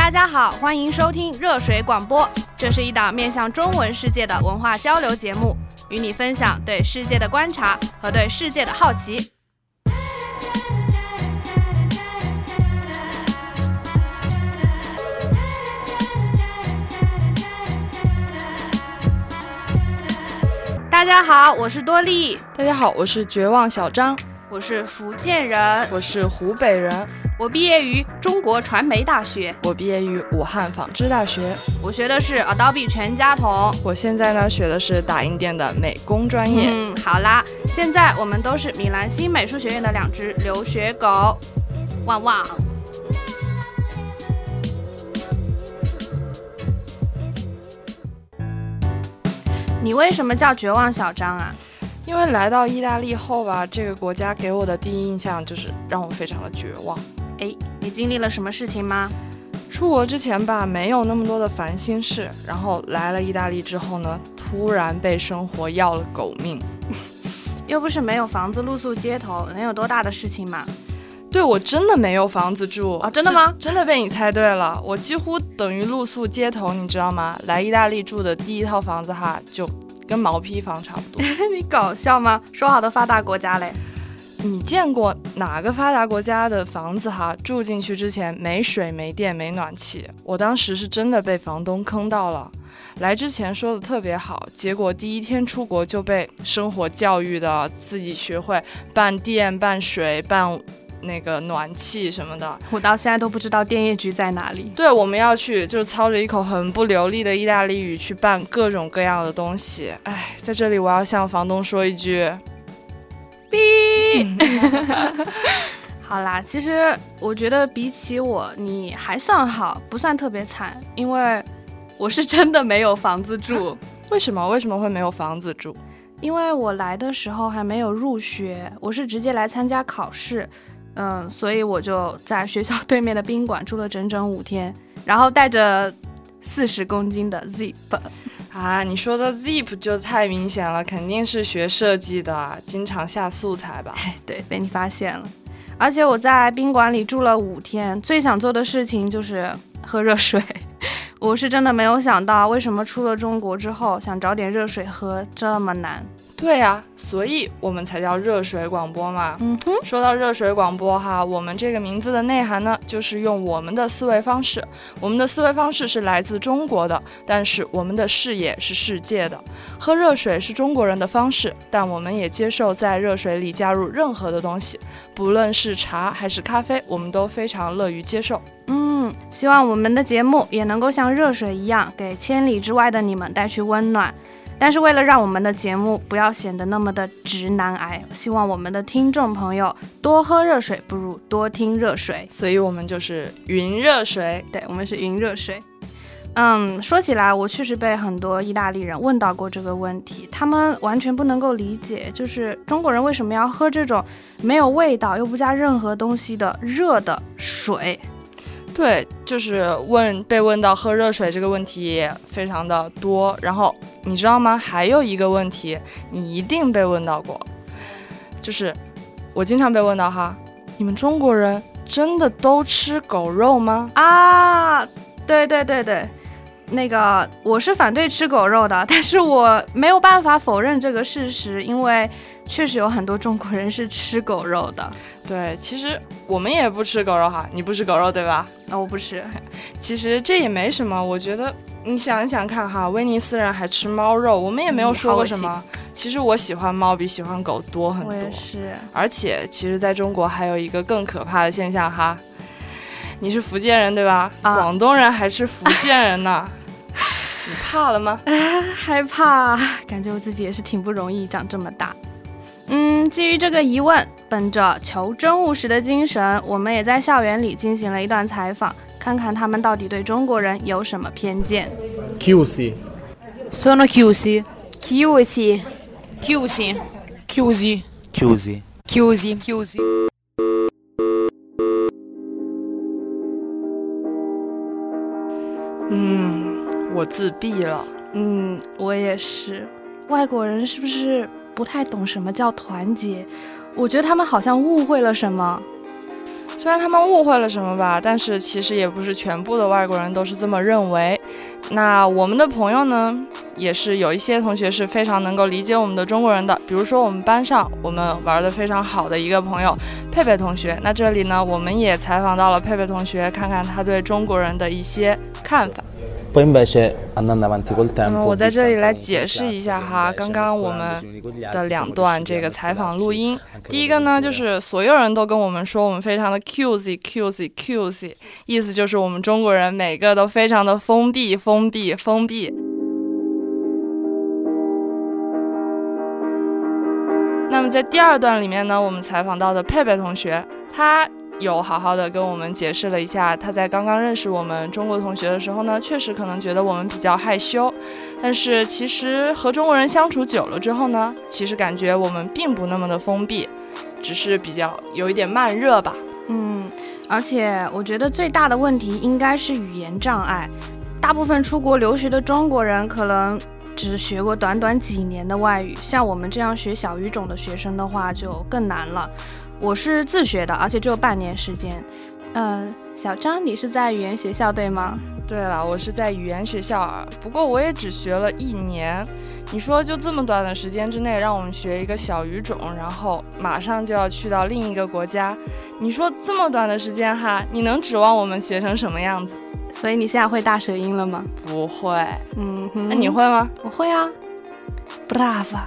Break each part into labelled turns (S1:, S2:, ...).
S1: 大家好，欢迎收听热水广播，这是一档面向中文世界的文化交流节目，与你分享对世界的观察和对世界的好奇。大家好，我是多莉。
S2: 大家好，我是绝望小张。
S1: 我是福建人。
S2: 我是湖北人。
S1: 我毕业于中国传媒大学。
S2: 我毕业于武汉纺织大学。
S1: 我学的是 Adobe 全家桶。
S2: 我现在呢学的是打印店的美工专业。
S1: 好啦，现在我们都是米兰新美术学院的2只留学狗。旺旺。你为什么叫绝望小张啊？
S2: 因为来到意大利后吧，这个国家给我的第一印象就是让我非常的绝望。
S1: 你经历了什么事情吗？
S2: 出国之前吧，没有那么多的烦心事，然后来了意大利之后呢，突然被生活要了狗命。
S1: 又不是没有房子露宿街头，能有多大的事情嘛？
S2: 对，我真的没有房子住。
S1: 真的吗？
S2: 真的被你猜对了，我几乎等于露宿街头，你知道吗？来意大利住的第一套房子哈，就跟毛坯房差不多。
S1: 你搞笑吗？说好的发达国家嘞？
S2: 你见过哪个发达国家的房子哈，住进去之前没水没电没暖气？我当时是真的被房东坑到了。来之前说的特别好，结果第一天出国就被生活教育的自己学会办电办水办那个暖气什么的。
S1: 我到现在都不知道电业局在哪里。
S2: 对，我们要去就是操着一口很不流利的意大利语去办各种各样的东西。在这里我要向房东说一句逼。
S1: 好啦，其实我觉得比起我你还算好，不算特别惨，因为我是真的没有房子住。
S2: 为什么会没有房子住？
S1: 因为我来的时候还没有入学，我是直接来参加考试，所以我就在学校对面的宾馆住了整整5天，然后带着40公斤的 Zip。
S2: 你说的 Zip 就太明显了，肯定是学设计的，经常下素材吧？
S1: 对，被你发现了。而且我在宾馆里住了5天，最想做的事情就是喝热水。我是真的没有想到，为什么出了中国之后，想找点热水喝这么难。
S2: 对啊，所以我们才叫热水广播嘛。说到热水广播哈，我们这个名字的内涵呢，就是用我们的思维方式。我们的思维方式是来自中国的，但是我们的视野是世界的。喝热水是中国人的方式，但我们也接受在热水里加入任何的东西，不论是茶还是咖啡，我们都非常乐于接受。
S1: 希望我们的节目也能够像热水一样，给千里之外的你们带去温暖。但是为了让我们的节目不要显得那么的直男癌，希望我们的听众朋友多喝热水不如多听热水，
S2: 所以我们就是云热水。
S1: 对，我们是云热水。说起来，我确实被很多意大利人问到过这个问题，他们完全不能够理解，就是中国人为什么要喝这种没有味道又不加任何东西的热的水。
S2: 对，就是被问到喝热水这个问题也非常的多。然后你知道吗？还有一个问题你一定被问到过，就是我经常被问到哈，你们中国人真的都吃狗肉吗？
S1: 对，那个我是反对吃狗肉的，但是我没有办法否认这个事实，因为确实有很多中国人是吃狗肉的。
S2: 对，其实我们也不吃狗肉哈，你不吃狗肉对吧？
S1: 我不吃。
S2: 其实这也没什么，我觉得你想一想看哈，威尼斯人还吃猫肉，我们也没有说过什么。其实我喜欢猫比喜欢狗多很多。我
S1: 也是。而
S2: 且其实在中国还有一个更可怕的现象哈，你是福建人对吧？广东人还吃福建人呢。你怕了吗？
S1: 害怕，感觉我自己也是挺不容易长这么大。基于这个疑问，本着求真务实的精神，我们也在校园里进行了一段采访，看看他们到底对中国人有什么偏见。
S3: Chiusi.
S4: Sono chiusi.
S5: Chiusi.
S4: Chiusi.
S5: Chiusi.
S6: Chiusi.
S5: Chiusi. Chiusi.
S2: 我自闭了。
S1: 我也是。外国人是不是不太懂什么叫团结？我觉得他们好像误会了什么。
S2: 虽然他们误会了什么吧，但是其实也不是全部的外国人都是这么认为。那我们的朋友呢，也是有一些同学是非常能够理解我们的中国人的，比如说我们班上我们玩得非常好的一个朋友佩佩同学。那这里呢，我们也采访到了佩佩同学，看看他对中国人的一些看法。我在这里来解释一下哈，刚刚我们的2段这个采访录音。第一个呢，就是所有人都跟我们说我们非常的 cusy， 意思就是我们中国人每个都非常的封闭。那么在第2段里面呢，我们采访到的佩佩同学，他有好好的跟我们解释了一下，他在刚刚认识我们中国同学的时候呢，确实可能觉得我们比较害羞，但是其实和中国人相处久了之后呢，其实感觉我们并不那么的封闭，只是比较有一点慢热吧。
S1: 而且我觉得最大的问题应该是语言障碍，大部分出国留学的中国人可能只学过短短几年的外语，像我们这样学小语种的学生的话就更难了。我是自学的，而且只有半年时间。小张，你是在语言学校对吗？
S2: 对了，我是在语言学校，不过我也只学了1年。你说就这么短的时间之内让我们学一个小语种，然后马上就要去到另一个国家，你说这么短的时间哈，你能指望我们学成什么样子？
S1: 所以你现在会大舌音了吗？
S2: 不会。那你会吗？
S1: 我会啊。Brava。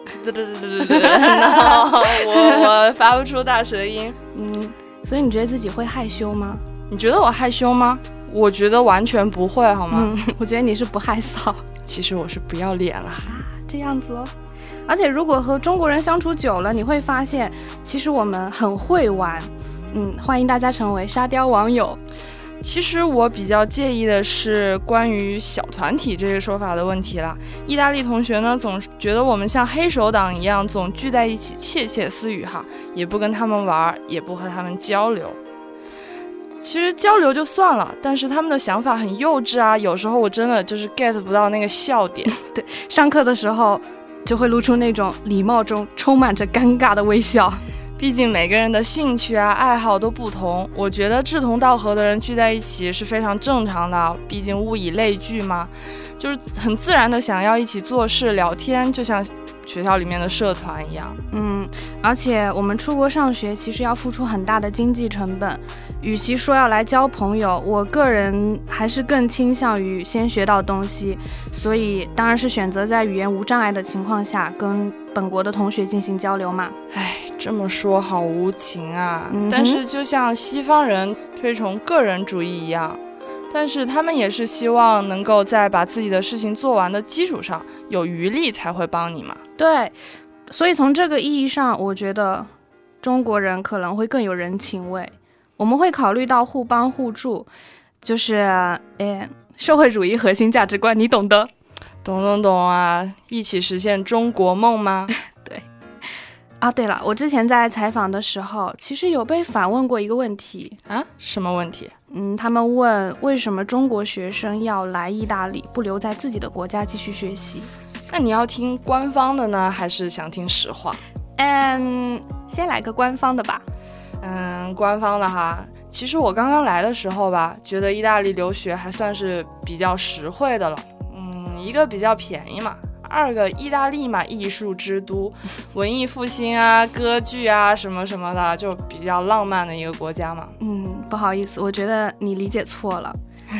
S2: 我发不出大舌音。
S1: 所以你觉得自己会害羞吗？
S2: 你觉得我害羞吗？我觉得完全不会，好吗？
S1: 我觉得你是不害臊。
S2: 其实我是不要脸啦。
S1: 这样子哦。而且如果和中国人相处久了，你会发现其实我们很会玩。欢迎大家成为沙雕网友。
S2: 其实我比较介意的是关于小团体这个说法的问题啦。意大利同学呢，总觉得我们像黑手党一样，总聚在一起窃窃私语哈，也不跟他们玩，也不和他们交流。其实交流就算了，但是他们的想法很幼稚啊，有时候我真的就是 get 不到那个笑点。
S1: 对，上课的时候就会露出那种礼貌中充满着尴尬的微笑。
S2: 毕竟每个人的兴趣啊爱好都不同，我觉得志同道合的人聚在一起是非常正常的，毕竟物以类聚嘛，就是很自然的想要一起做事聊天，就像学校里面的社团一样。
S1: 而且我们出国上学其实要付出很大的经济成本，与其说要来交朋友，我个人还是更倾向于先学到东西，所以当然是选择在语言无障碍的情况下跟本国的同学进行交流嘛。
S2: 这么说好无情啊。但是就像西方人推崇个人主义一样，但是他们也是希望能够在把自己的事情做完的基础上有余力才会帮你嘛。
S1: 对，所以从这个意义上，我觉得中国人可能会更有人情味，我们会考虑到互帮互助，就是社会主义核心价值观，你懂的。
S2: 懂啊，一起实现中国梦吗？
S1: 对啊，对了，我之前在采访的时候其实有被反问过一个问题
S2: 啊。什么问题？
S1: 他们问为什么中国学生要来意大利，不留在自己的国家继续学习。
S2: 那你要听官方的呢，还是想听实话？
S1: 先来个官方的吧。
S2: 官方的哈。其实我刚刚来的时候吧，觉得意大利留学还算是比较实惠的了。一个比较便宜嘛，2个意大利嘛，艺术之都，文艺复兴啊，歌剧啊什么什么的，就比较浪漫的一个国家嘛。
S1: 不好意思，我觉得你理解错了。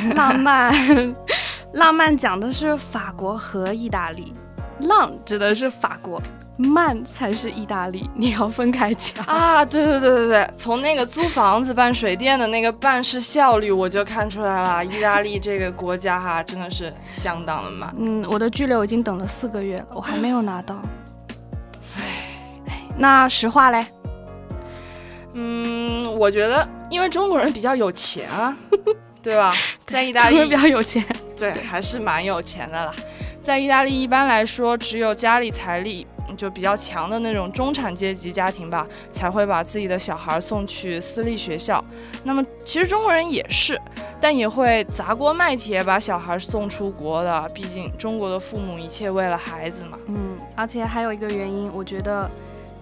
S1: 浪漫讲的是法国和意大利，浪指的是法国，慢才是意大利，你要分开讲
S2: 啊。对，从那个租房子办水电的那个办事效率我就看出来了，意大利这个国家哈真的是相当的慢。
S1: 我的居留已经等了4个月了，我还没有拿到。那实话嘞？
S2: 我觉得因为中国人比较有钱啊，对吧？在意大利
S1: 中国人比较有钱，
S2: 对，还是蛮有钱的啦。在意大利一般来说，只有家里财力就比较强的那种中产阶级家庭吧，才会把自己的小孩送去私立学校。那么其实中国人也是，但也会砸锅卖铁把小孩送出国的，毕竟中国的父母一切为了孩子嘛。
S1: 而且还有一个原因，我觉得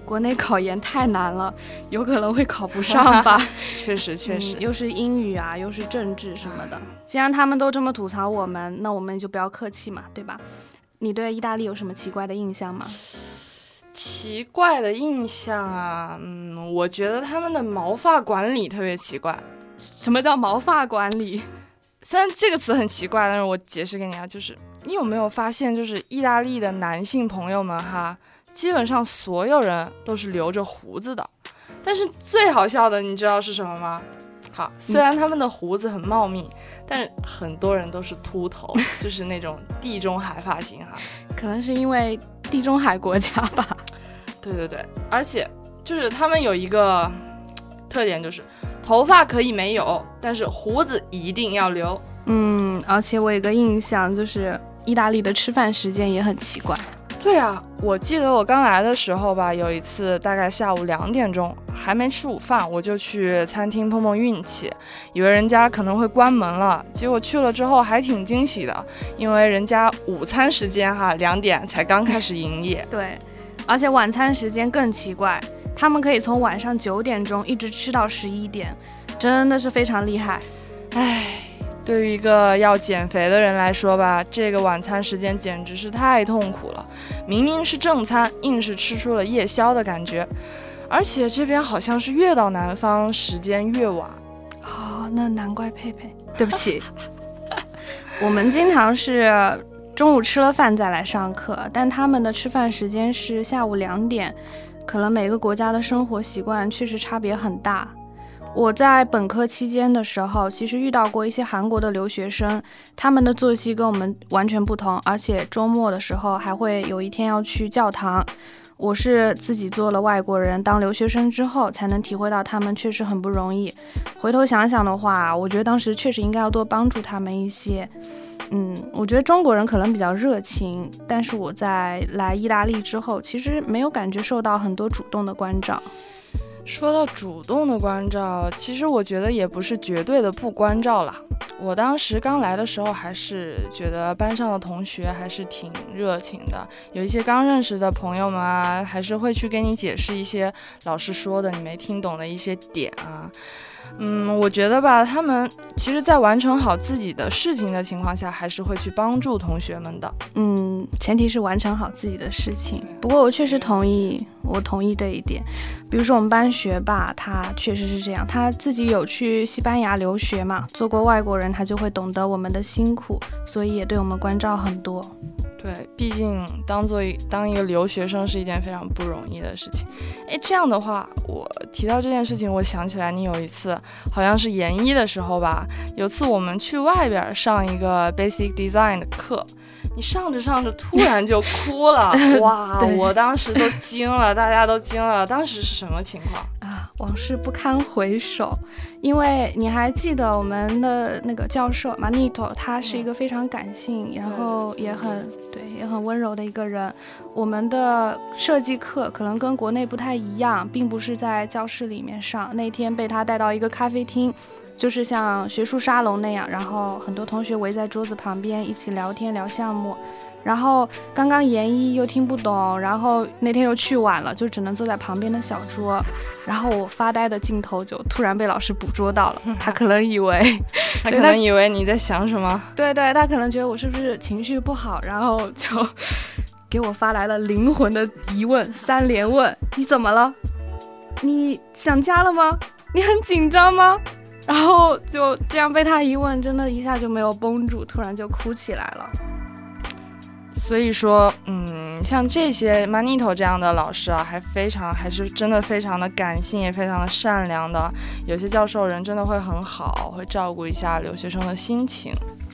S1: 国内考研太难了，有可能会考不上吧。
S2: 确实，
S1: 又是英语啊，又是政治什么的。既然他们都这么吐槽我们，那我们就不要客气嘛，对吧？你对意大利有什么奇怪的印象吗？
S2: 奇怪的印象啊，我觉得他们的毛发管理特别奇怪。
S1: 什么叫毛发管理？
S2: 虽然这个词很奇怪，但是我解释给你啊，就是你有没有发现，就是意大利的男性朋友们哈，基本上所有人都是留着胡子的。但是最好笑的，你知道是什么吗？好，虽然他们的胡子很茂密，但是很多人都是秃头，就是那种地中海发型哈。
S1: 可能是因为地中海国家吧。
S2: 对，而且就是他们有一个特点，就是头发可以没有，但是胡子一定要留。
S1: 而且我有个印象，就是意大利的吃饭时间也很奇怪。
S2: 对啊，我记得我刚来的时候吧，有一次大概下午2点钟，还没吃午饭，我就去餐厅碰碰运气，以为人家可能会关门了，结果去了之后还挺惊喜的，因为人家午餐时间2点才刚开始营业。
S1: 对，而且晚餐时间更奇怪，他们可以从晚上9点钟一直吃到11点，真的是非常厉害。
S2: 对于一个要减肥的人来说吧，这个晚餐时间简直是太痛苦了，明明是正餐，硬是吃出了夜宵的感觉。而且这边好像是越到南方时间越晚。
S1: 那难怪佩佩，对不起。我们经常是中午吃了饭再来上课，但他们的吃饭时间是下午2点，可能每个国家的生活习惯确实差别很大。我在本科期间的时候，其实遇到过一些韩国的留学生，他们的作息跟我们完全不同，而且周末的时候还会有一天要去教堂。我是自己做了外国人，当留学生之后才能体会到他们确实很不容易。回头想想的话，我觉得当时确实应该要多帮助他们一些。我觉得中国人可能比较热情，但是我在来意大利之后，其实没有感觉受到很多主动的关照。
S2: 说到主动的关照，其实我觉得也不是绝对的不关照啦。我当时刚来的时候，还是觉得班上的同学还是挺热情的，有一些刚认识的朋友们啊，还是会去给你解释一些老师说的你没听懂的一些点啊。我觉得吧，他们其实在完成好自己的事情的情况下，还是会去帮助同学们的。
S1: 前提是完成好自己的事情。不过我确实同意这一点。比如说我们班学霸，他确实是这样，他自己有去西班牙留学嘛，做过外国人，他就会懂得我们的辛苦，所以也对我们关照很多。
S2: 对，毕竟当一个留学生是一件非常不容易的事情。这样的话，我提到这件事情，我想起来你有一次好像是研一的时候吧，有次我们去外边上一个 Basic Design 的课，你上着突然就哭了。哇，我当时都惊了，大家都惊了。当时是什么情况
S1: 啊？往事不堪回首。因为你还记得我们的那个教授 Manito， 他是一个非常感性，然后也很温柔的一个人。我们的设计课可能跟国内不太一样，并不是在教室里面上，那天被他带到一个咖啡厅，就是像学术沙龙那样，然后很多同学围在桌子旁边一起聊天聊项目。然后刚刚研一又听不懂，然后那天又去晚了，就只能坐在旁边的小桌，然后我发呆的镜头就突然被老师捕捉到了。他可能以为
S2: 你在想什么。
S1: 对，他可能觉得我是不是情绪不好，然后就给我发来了灵魂的疑问，3连问：你怎么了？你想家了吗？你很紧张吗？然后就这样被他一问，真的一下就没有绷住，突然就哭起来了。
S2: 所以说，像这些 Manito 这样的老师啊，还是真的非常的感性，也非常的善良的。有些教授人真的会很好，会照顾一下留学生的心情。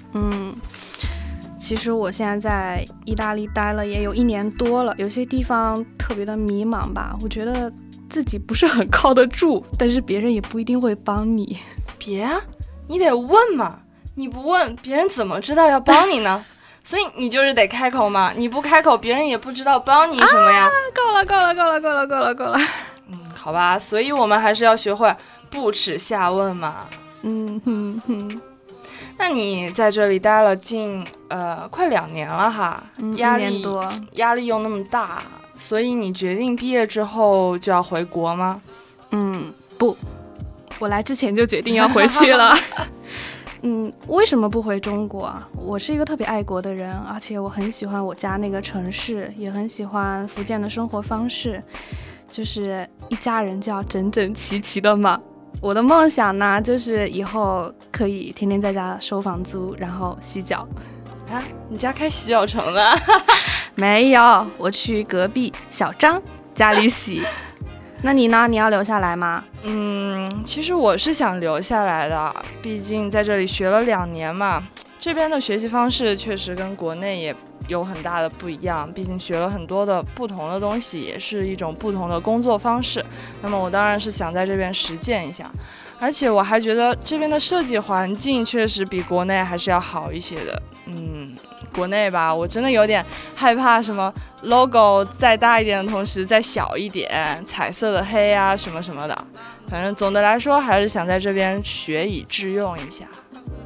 S1: 其实我现在在意大利待了也有1年多了，有些地方特别的迷茫吧。我觉得自己不是很靠得住，但是别人也不一定会帮你。
S2: 别啊，你得问嘛，你不问，别人怎么知道要帮你呢？所以你就是得开口嘛，你不开口，别人也不知道帮你什么呀。
S1: 够了。
S2: 好吧，所以我们还是要学会不耻下问嘛。那你在这里待了近快2年了哈，压力又那么大， 所以你决定毕业之后就要回国吗？
S1: 不，我来之前就决定要回去了。为什么不回中国啊？我是一个特别爱国的人，而且我很喜欢我家那个城市，也很喜欢福建的生活方式，就是一家人就要整整齐齐的嘛。我的梦想呢，就是以后可以天天在家收房租，然后洗脚。
S2: 啊，你家开洗脚城了？
S1: 没有，我去隔壁小张家里洗。那你呢？你要留下来吗？
S2: 其实我是想留下来的，毕竟在这里学了2年嘛。这边的学习方式确实跟国内也有很大的不一样，毕竟学了很多的不同的东西，也是一种不同的工作方式。那么我当然是想在这边实践一下，而且我还觉得这边的设计环境确实比国内还是要好一些的。国内吧，我真的有点害怕什么 logo 再大一点的同时再小一点，彩色的黑啊什么什么的。反正总的来说还是想在这边学以致用一下。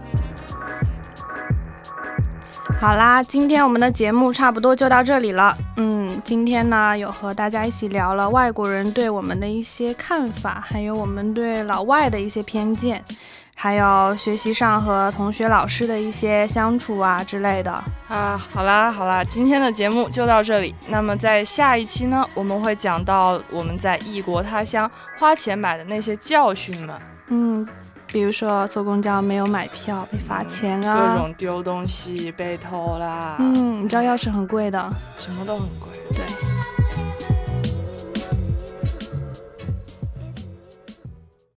S1: 好啦，今天我们的节目差不多就到这里了。今天呢有和大家一起聊了外国人对我们的一些看法，还有我们对老外的一些偏见，还有学习上和同学老师的一些相处啊之类的
S2: 啊。好啦，今天的节目就到这里。那么在下一期呢，我们会讲到我们在异国他乡花钱买的那些教训们。
S1: 比如说坐公交没有买票被罚钱啊，
S2: 各种丢东西被偷啦。
S1: 你知道钥匙很贵的，
S2: 什么都很贵。
S1: 对。